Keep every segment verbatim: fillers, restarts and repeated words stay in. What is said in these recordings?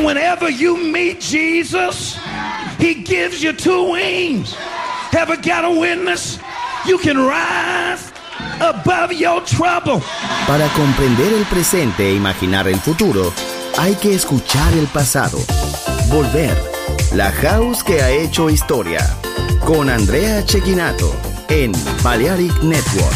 And whenever you meet Jesus, he gives you two wings. Ever got a witness? You can rise above your trouble. Para comprender el presente e imaginar el futuro, hay que escuchar el pasado. Volver. La House que ha hecho historia. Con Andrea Cecchinato en Balearic Network.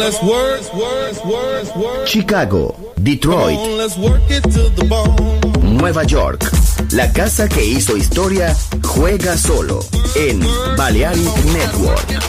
let's work, work, work, work. Chicago, Detroit, Come on, let's work it to the bone. Nueva York. La casa que hizo historia juega solo en Balearic Network.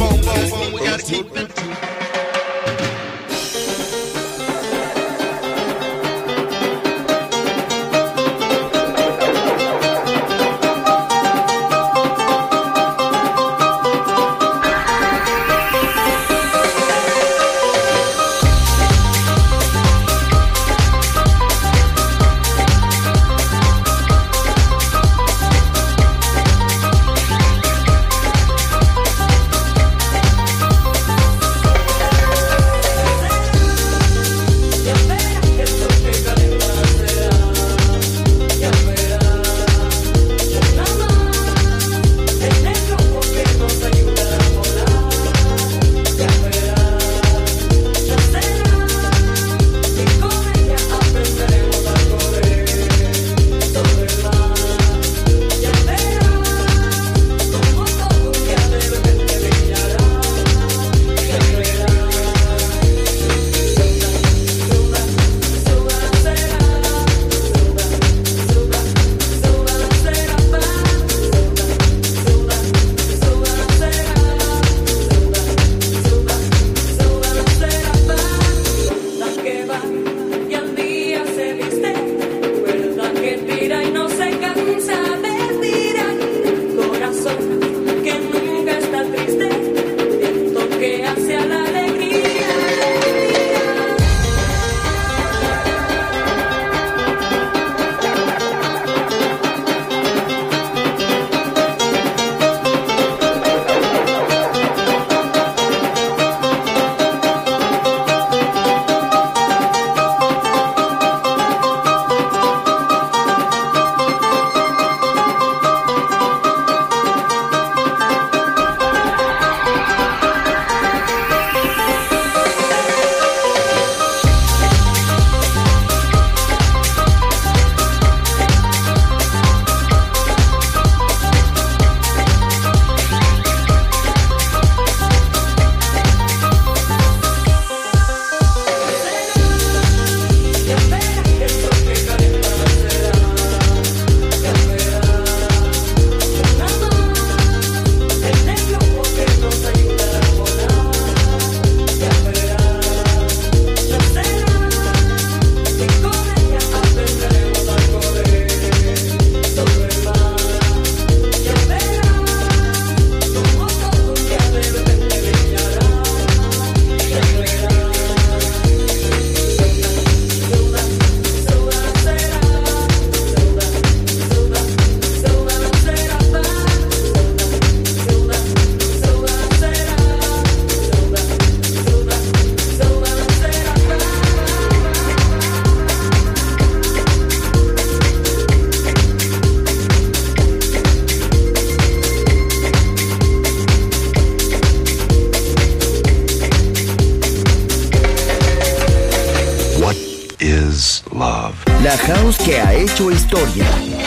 La house que ha hecho historia.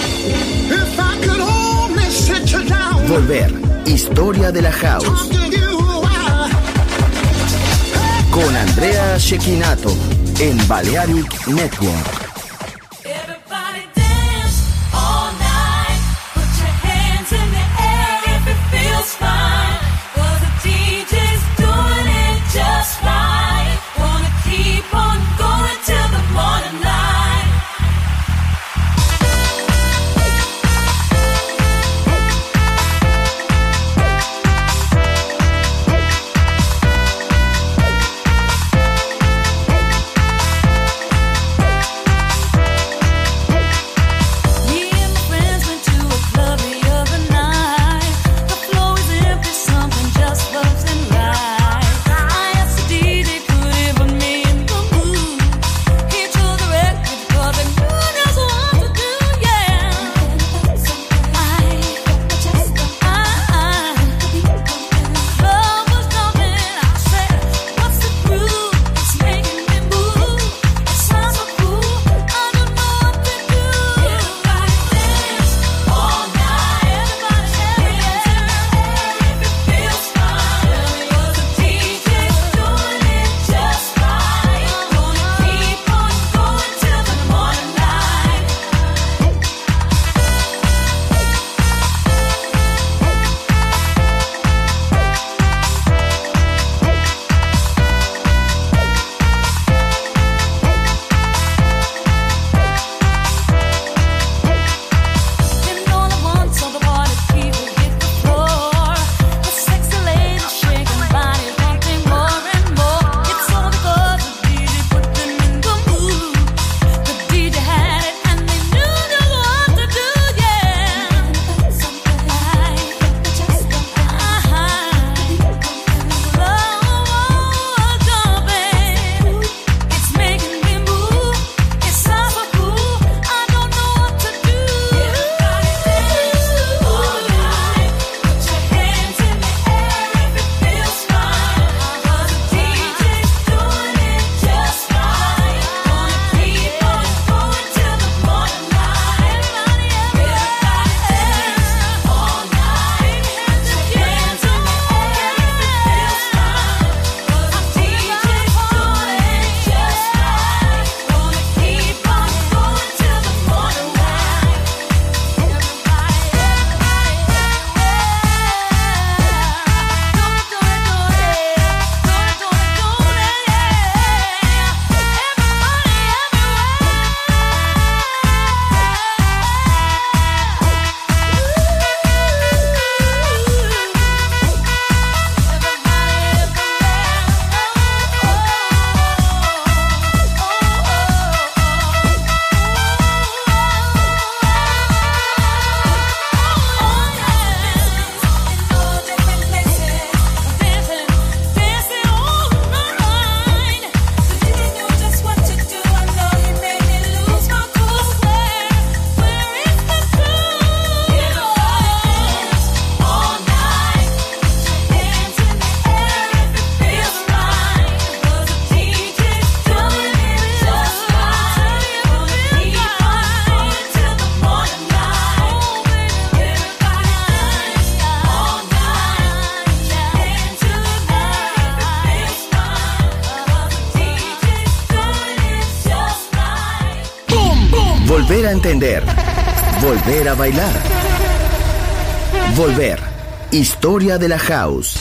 Volver. Historia de la house. Con Andrea Cecchinato en Balearic Network. Volver a entender. Volver a bailar. Volver. Historia de la house.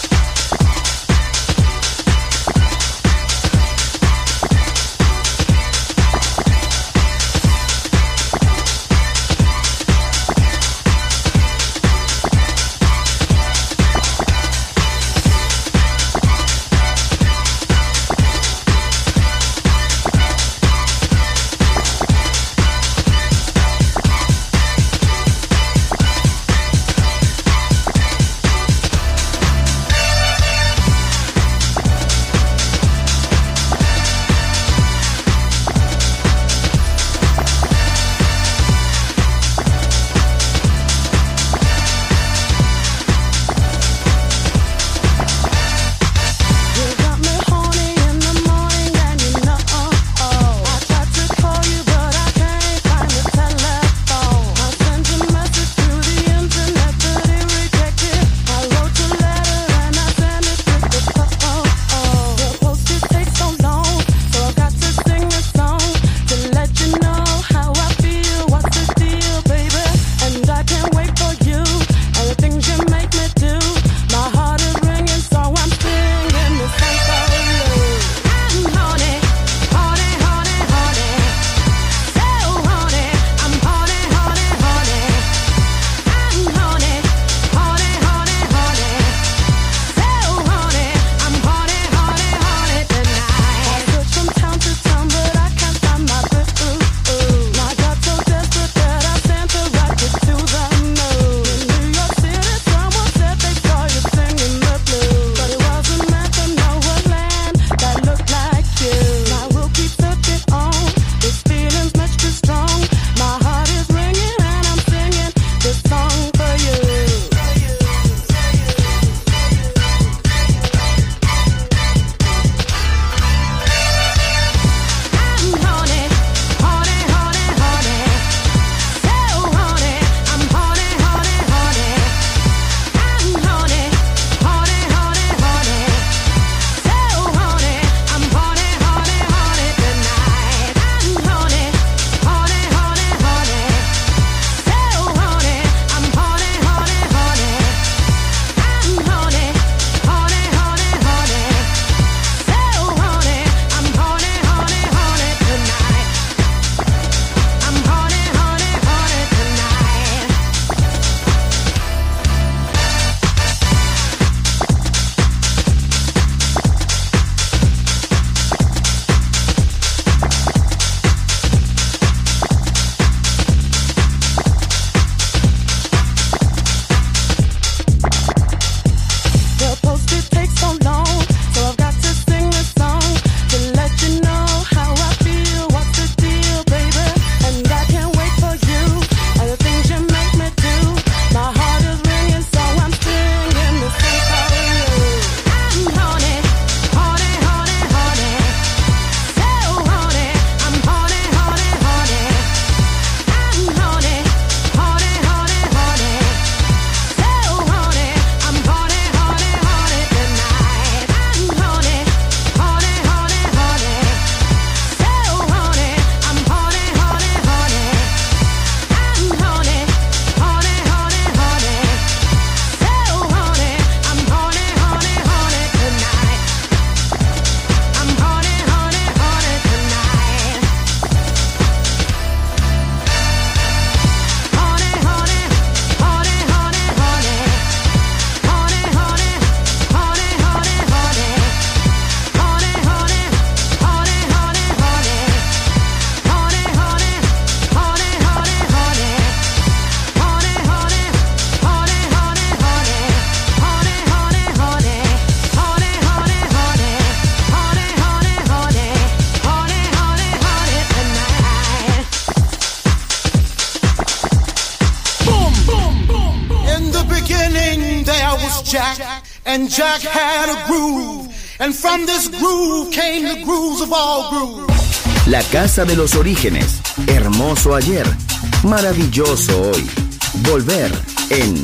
Jack, and Jack had a groove, and from this groove came the grooves of all grooves. La casa de los orígenes, hermoso ayer, maravilloso hoy. Volver en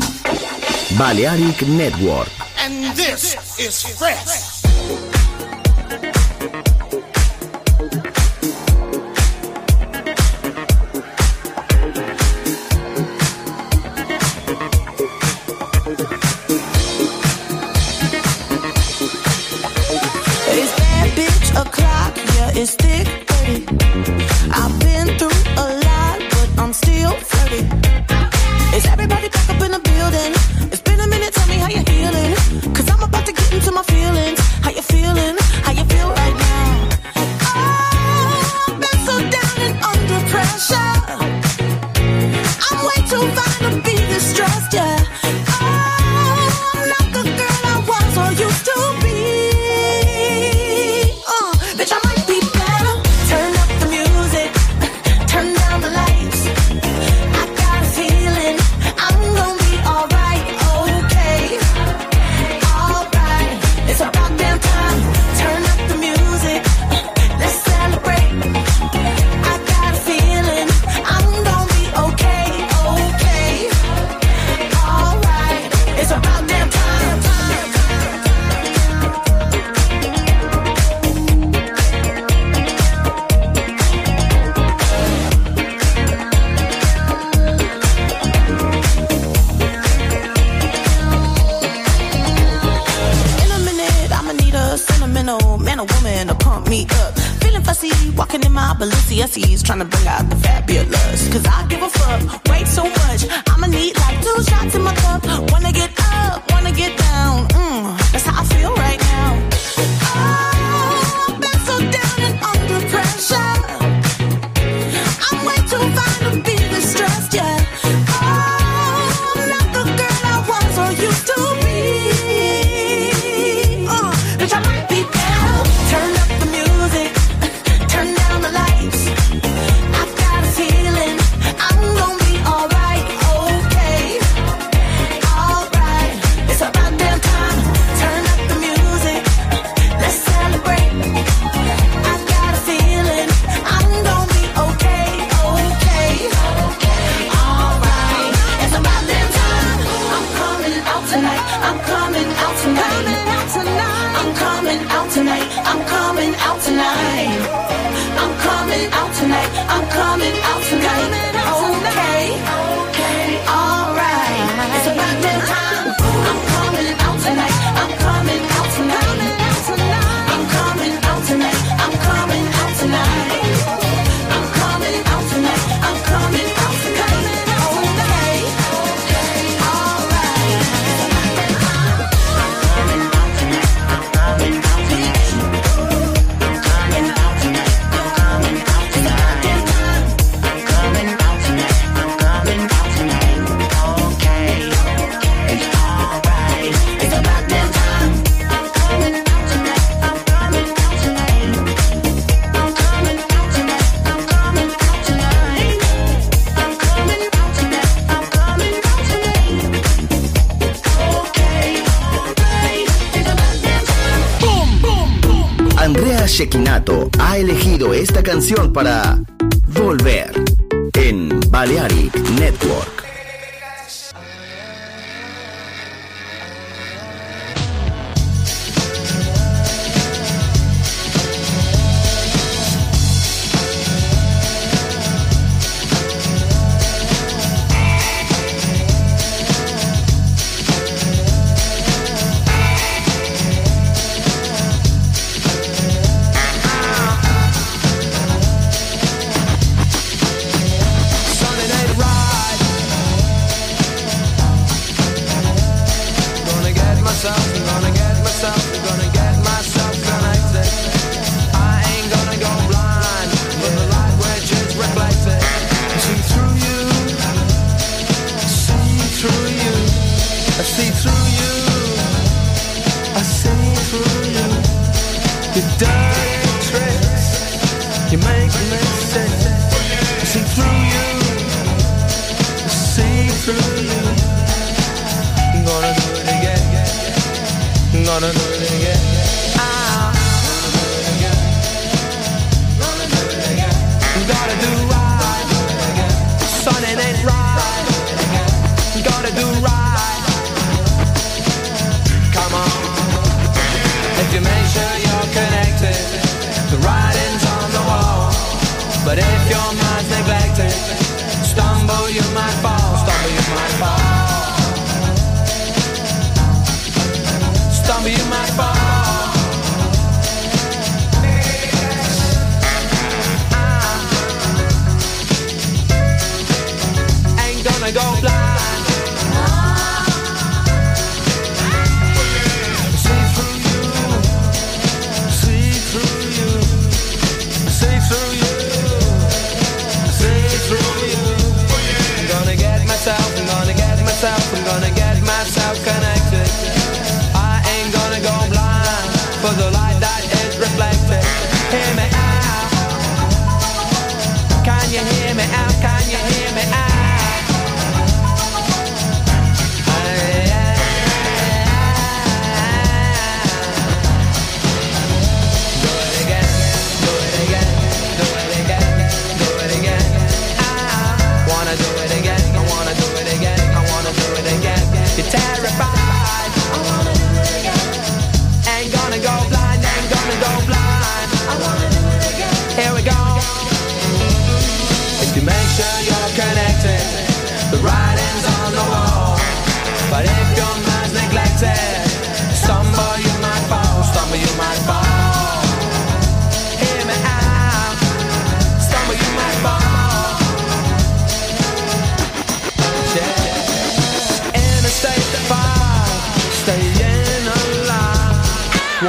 Balearic Network. And this is fresh. fantasies, trying to bring out the fabulous. Cause I give a fuck, way too much. I'ma need like two shots in my cup. Wanna get up, wanna get down. Mm, that's how I feel right now. Oh, I've been so down and under pressure. I'm way too fine to be distressed, yeah. Oh, I'm not the girl I was or used to be. Uh, bitch, I might be down. Turn up the music, turn down the lights. I've got a feeling I'm gonna be alright, okay. Alright, it's about damn time. Turn up the music, let's celebrate. I've got a feeling I'm gonna be okay, okay. Alright, it's about damn time. I'm coming out tonight, I'm coming out tonight. I'm coming out tonight, I'm coming out tonight. I'm coming out tonight, I'm coming out tonight. Okay, alright, it's about damn time. I'm coming out tonight, I'm coming out tonight. I'm coming out tonight, I'm coming out tonight. I'm coming out tonight, I'm coming out tonight. Okay, alright, it's about damn time. I'm coming out tonight, I'm coming out tonight. I'm coming out tonight, I'm coming out tonight. I'm coming out tonight, I'm coming out tonight. Okay, it's alright, it's about damn time. I'm coming out tonight, I'm coming out tonight. I'm coming out tonight, I'm coming out tonight. I'm coming out tonight, I'm coming out tonight. Okay, alright, it's about damn time. Boom, boom, boom. Andrea Cecchinato ha elegido esta canción para Volver en Balearic Network. Sunday night ride. Gonna get myself, gonna get myself, gonna get myself connected. I ain't gonna go blind, but the light which is reflected. See through you, see through you, I see through you, I see through you. Your dirty tricks, you make me sick. I see through you, I see through you. I'm gonna do it again, I'm gonna do it again. Ah. Gotta do right, son, it ain't right. Gotta do right. Come on, if you make sure you're connected, the writing's on the wall. But if your mind's neglected, stumble you might fall, stumble you might fall, stumble you might fall. Ain't gonna go blind. See through you, see through you, see through you, see through you. I'm gonna get myself, I'm gonna get myself, I'm gonna get myself connected. I ain't gonna go blind for the light that is reflected. Hear me out. Can you hear me out? Can you hear me out? Do it again, do it again, do it again, do it again. I wanna do it again, I wanna do it again, I wanna do it again. You're terrified. I wanna do it again. Ain't gonna go blind, ain't gonna go blind. I wanna do it again. Here we go. If you make sure you're connected,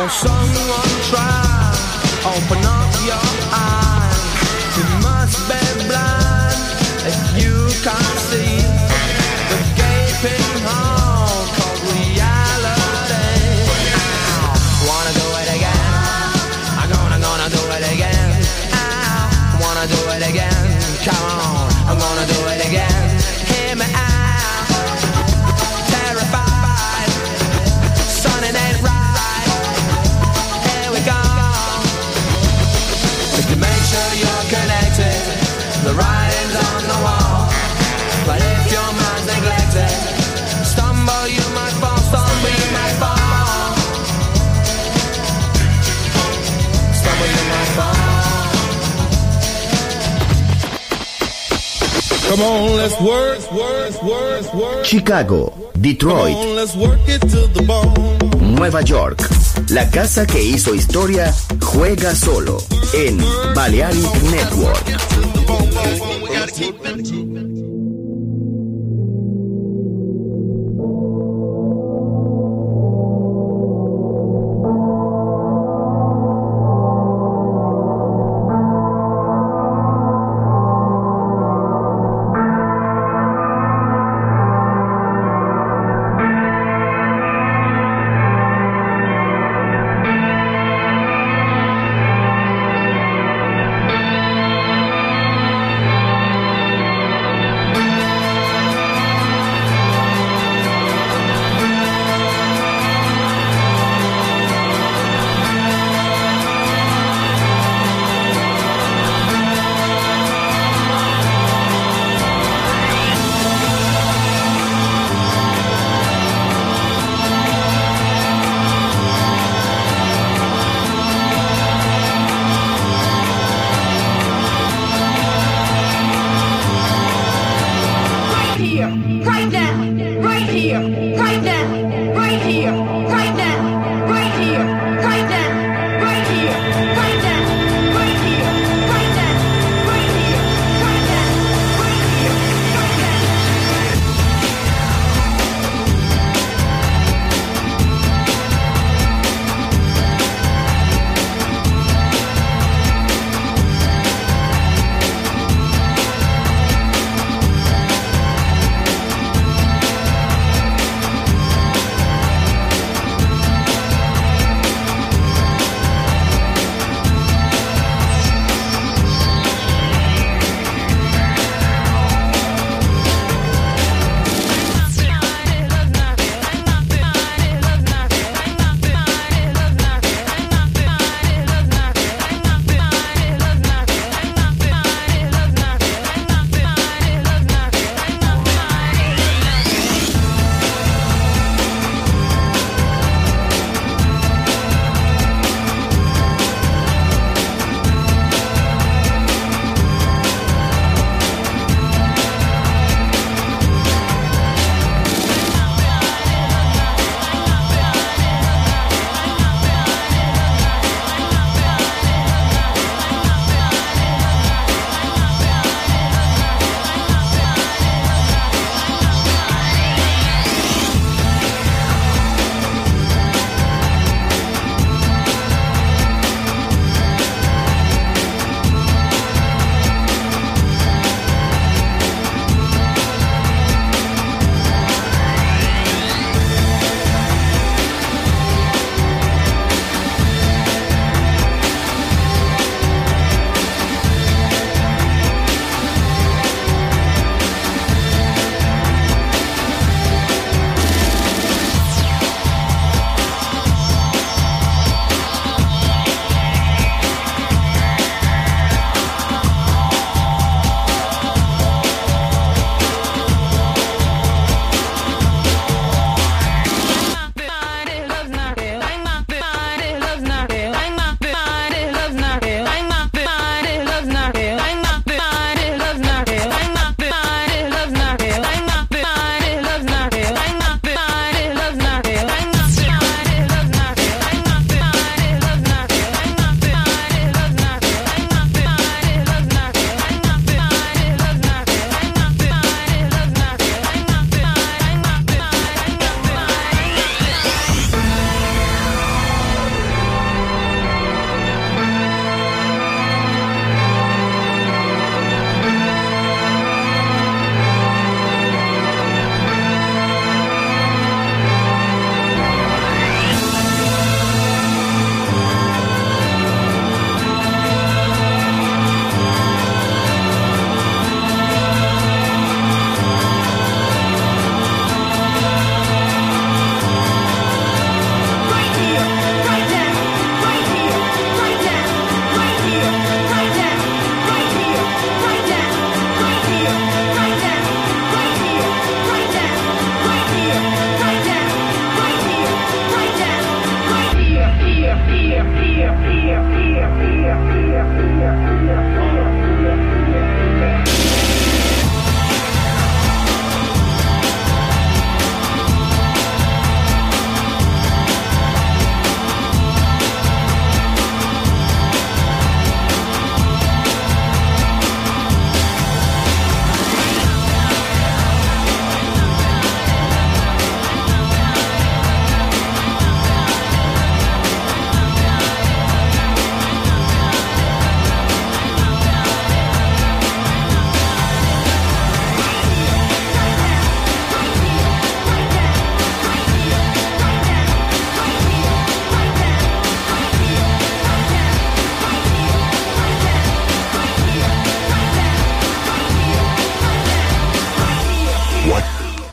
Oh, someone try, open up your eyes. You must be blind if you can't see the gaping hole called reality. Ow, wanna do it again? I'm gonna, gonna do it again. Ow, wanna do it again? Come on, I'm gonna do it again. Hear me out. Terrified, son, it ain't right. Here we go. Make sure you're connected. The writing's on the wall. But if your mind's neglected, stumble you might fall, stumble you might fall. Stumble you might fall. Come on, let's work, work, work, work. Chicago, Detroit, Come on, let's work it to the bone. Nueva York. La casa que hizo historia juega solo en Balearic Network.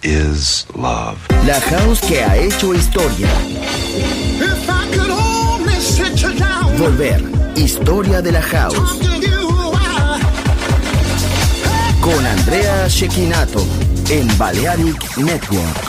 is love. La house que ha hecho historia. If I could only sit you down, Volver. Historia de la house. talk to you a while. Con Andrea Cecchinato en Balearic Network.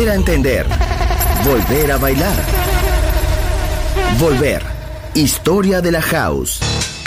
volver a entender, volver a bailar. Volver. Historia de la house.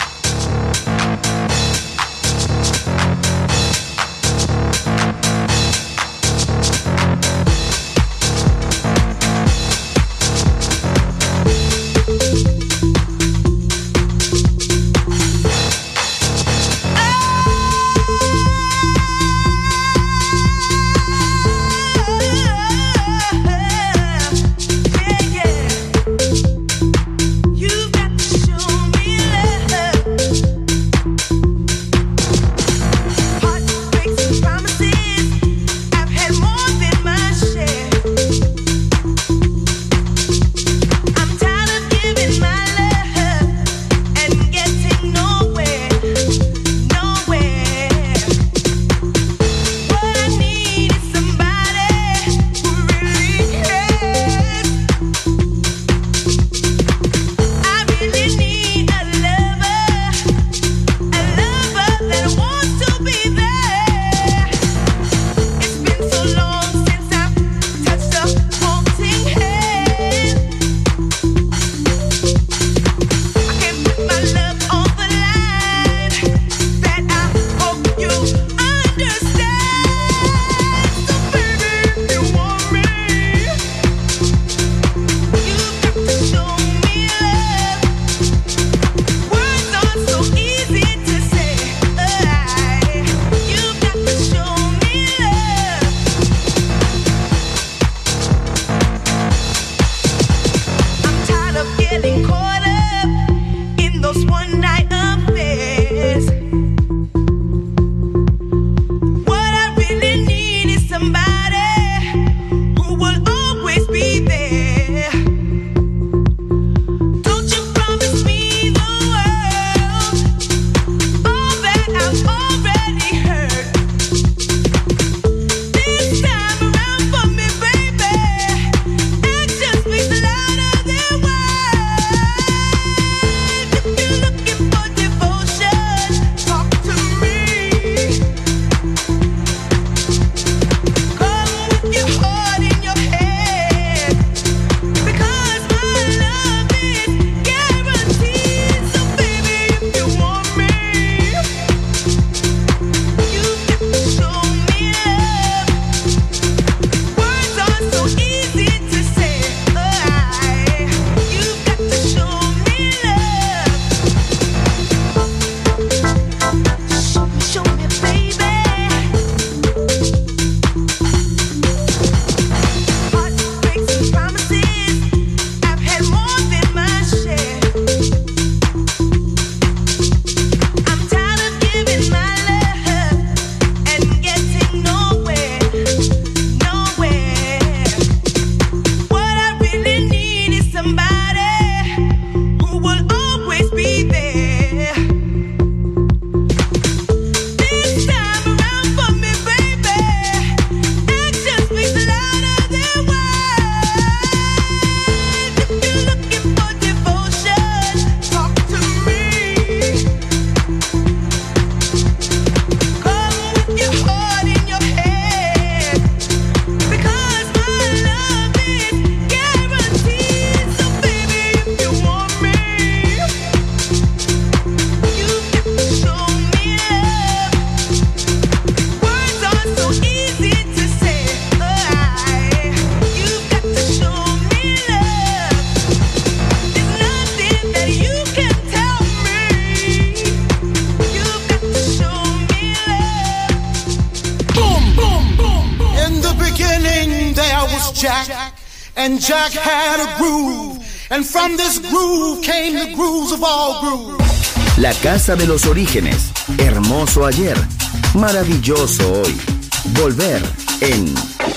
Jack, and Jack had a groove, and from this groove came the grooves of all grooves. La casa de los orígenes, hermoso ayer, maravilloso hoy. Volver en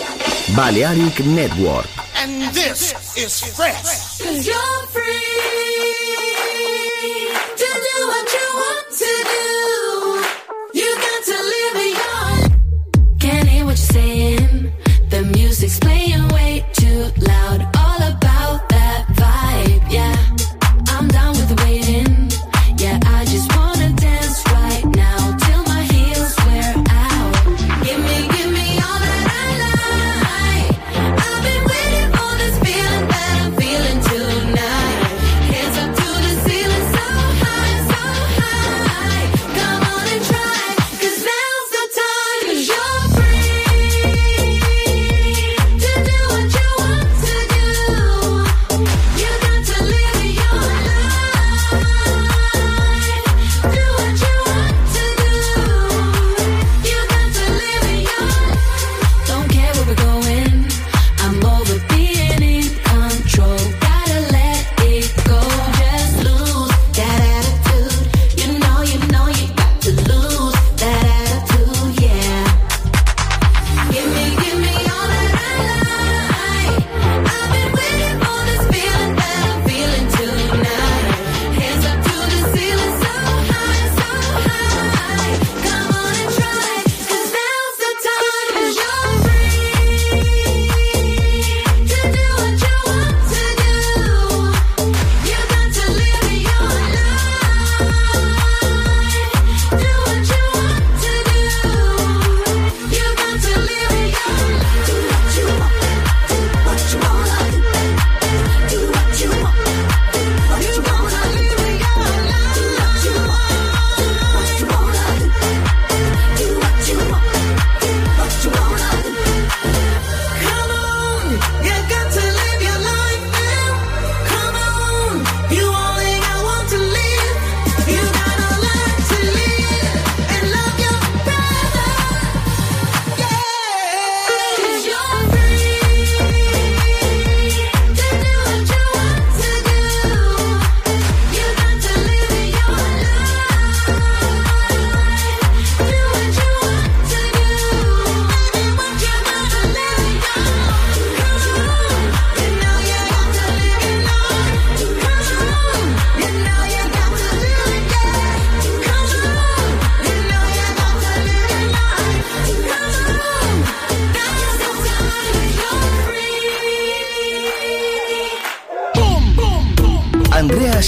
Balearic Network. And this is fresh. 'Cause you're free to do what you want to do. You got to live it young. Can't hear what you're saying. The music's playing way too loud. All about that vibe, yeah. I'm done with the waiting. Yeah, I just wanna dance right now till my heels wear out. Give me, give me all that I like. I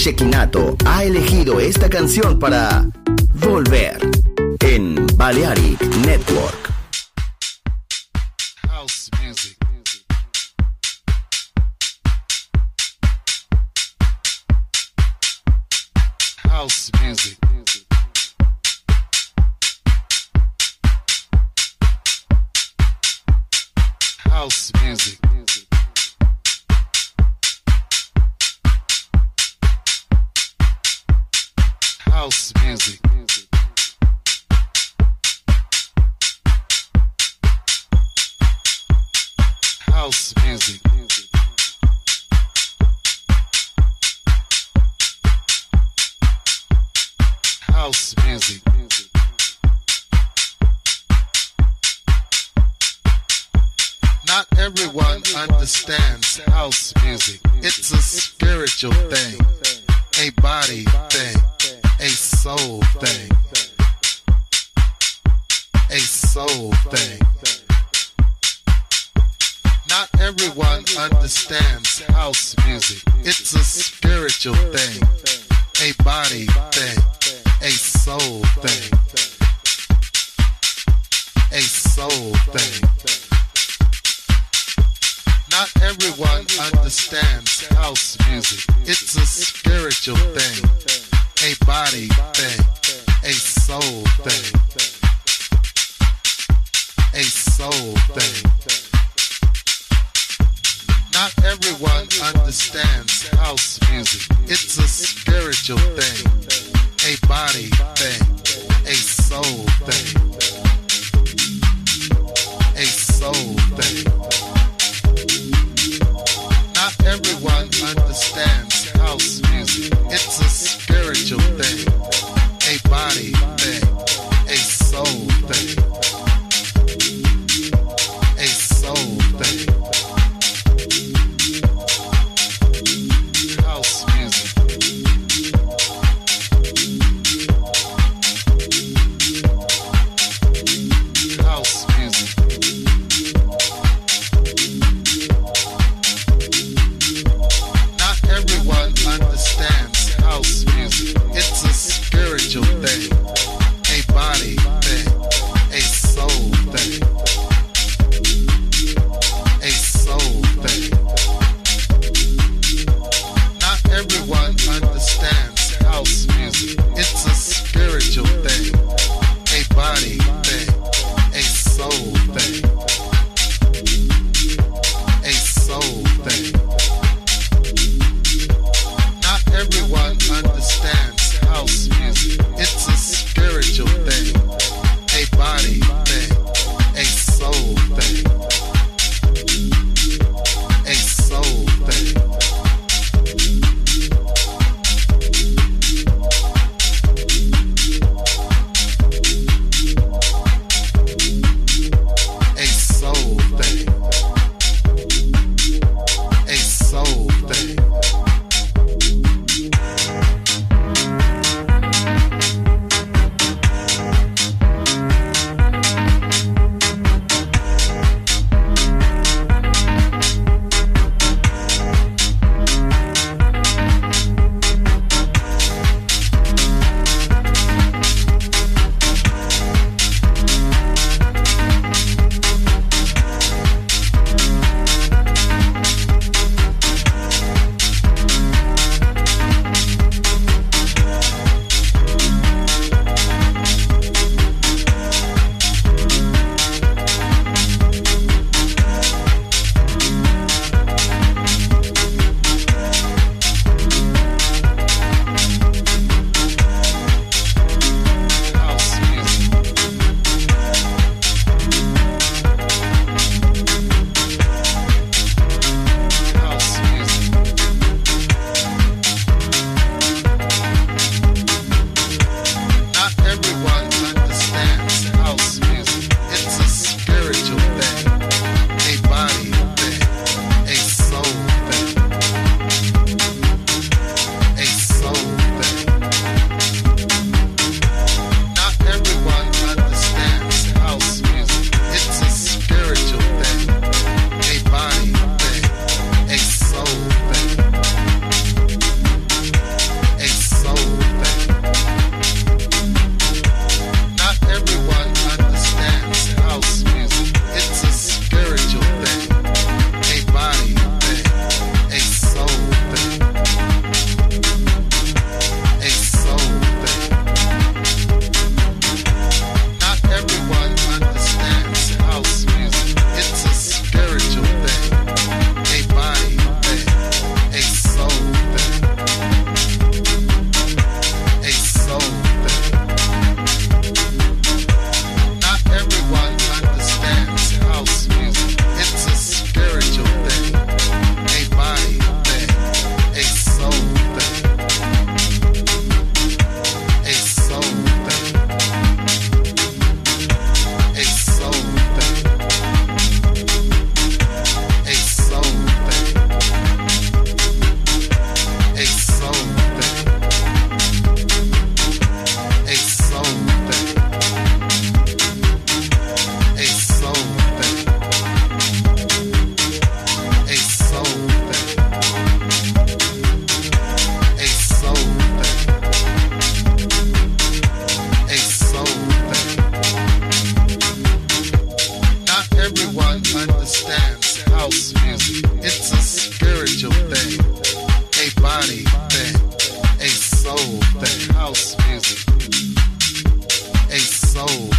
Shekinato ha elegido esta canción para volver en Balearic Network. House music. House music. House music. House music. House music. House music. Not everyone understands house music. It's a spiritual thing, a body thing, a soul thing, a soul thing. Not everyone understands house music. It's a spiritual thing, a body thing, a soul thing, a soul thing. Not everyone understands house music. It's a spiritual thing, a body thing, a soul thing, a soul thing. Not everyone understands house music. It's a spiritual thing, a body thing, a soul thing, a soul thing. Not everyone understands house music. It's a spiritual thing, a body thing, a soul thing, a soul thing. House music. House music. Not everyone understands house music. It's a spiritual thing, a body thing, a soul thing, a soul thing. Not everyone understands house music. It's a spiritual thing, a body thing, a soul thing, a soul thing. Not everyone understands house music. It's a spiritual thing, a body thing, a soul thing, a soul thing.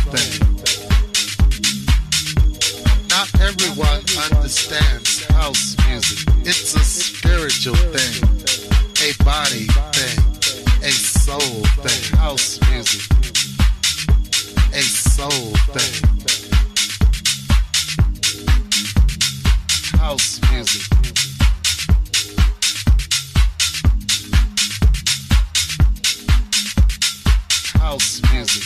thing. Not everyone understands house music. It's a spiritual thing, a body thing, a soul thing. House music, a soul thing. House music. House music.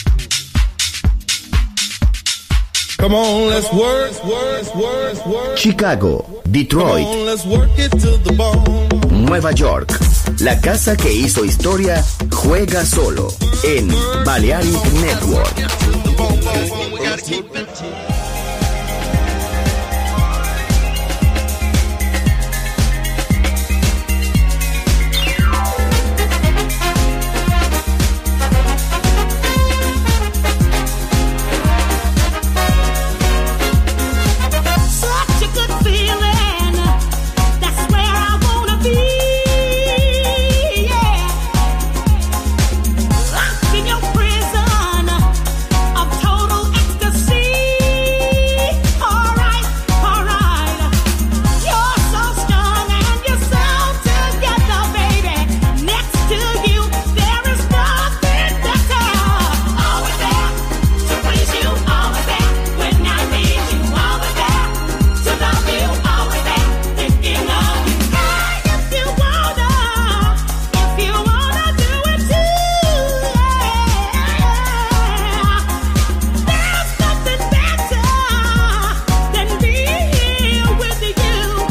Come on, let's work, work, work, work. Chicago, Detroit, Come on, let's work it to the bone. Nueva York. La casa que hizo historia juega solo en Balearic Network. Such a good feeling. That's where I wanna be. Yeah. Locked in your prison of total ecstasy. Alright, alright. You're so strong and you're so together, baby. Next to you, there is nothing better. Always there to please you, always there when I need you, always there to love you, always there thinking of you. Hey, if you wanna, if you wanna do it too, yeah. There's nothing better than being here with you.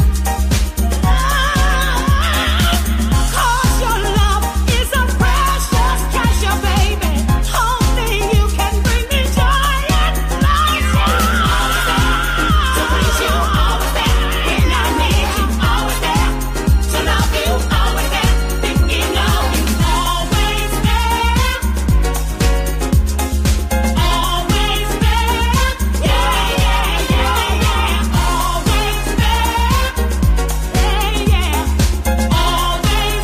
Cause your love is a precious treasure, baby. Only you can bring me joy and pleasure. To please you, always there when I need you, always there to love you, always there thinking of you, always there, always there, yeah, yeah, yeah, yeah, always there, yeah, yeah, always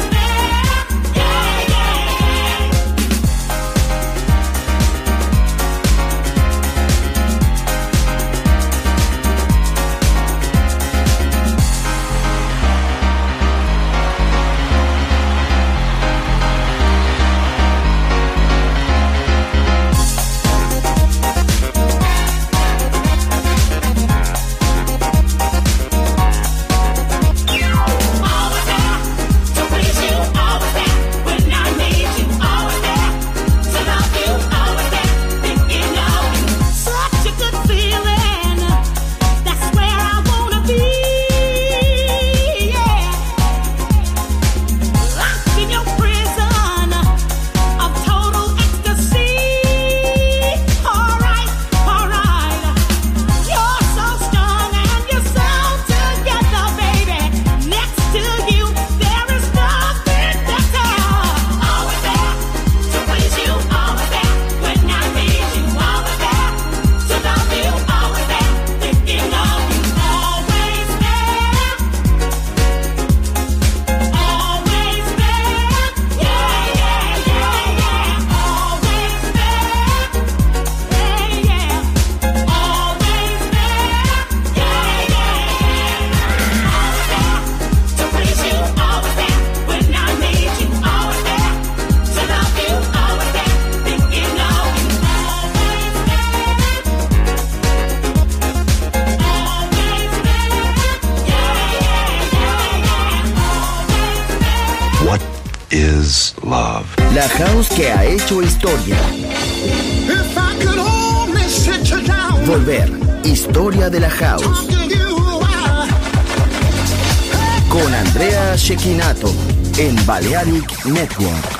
Always there to please you, always there when I need you, always there to love you, always there thinking of you. Such a good feeling. That's where I wanna be. Yeah. Locked in your prison of total ecstasy. Alright, alright. You're so strong and you're so together, baby. Next to you, there is nothing better. Always there to please you, always there when I need you, always there to love you, always there thinking of you, always there, always there, yeah, yeah, yeah, yeah, always there, yeah, yeah, always there, yeah, yeah, yeah, to please you, always there when I need you, always there to love you, always there thinking of you, always there, always there, yeah, yeah, yeah, yeah, always there. What is love? La house que ha hecho historia. If I could only sit you down, Volver. Historia de la house. talk to you while Con Andrea Cecchinato en Balearic Network.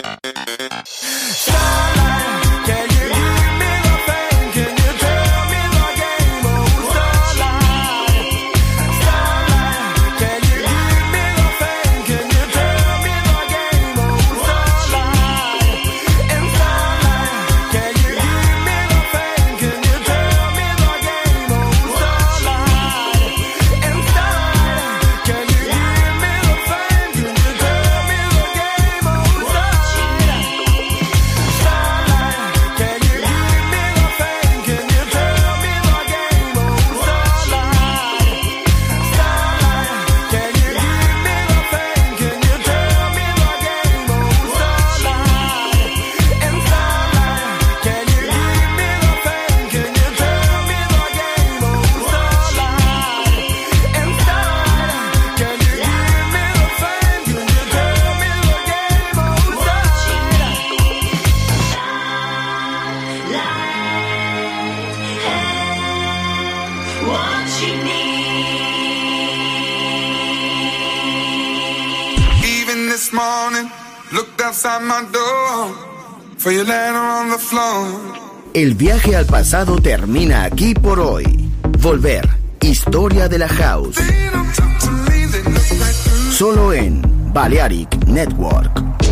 This morning, looked outside my door for your letter on the floor. El viaje al pasado termina aquí por hoy. Volver, historia de la house. Solo en Balearic Network.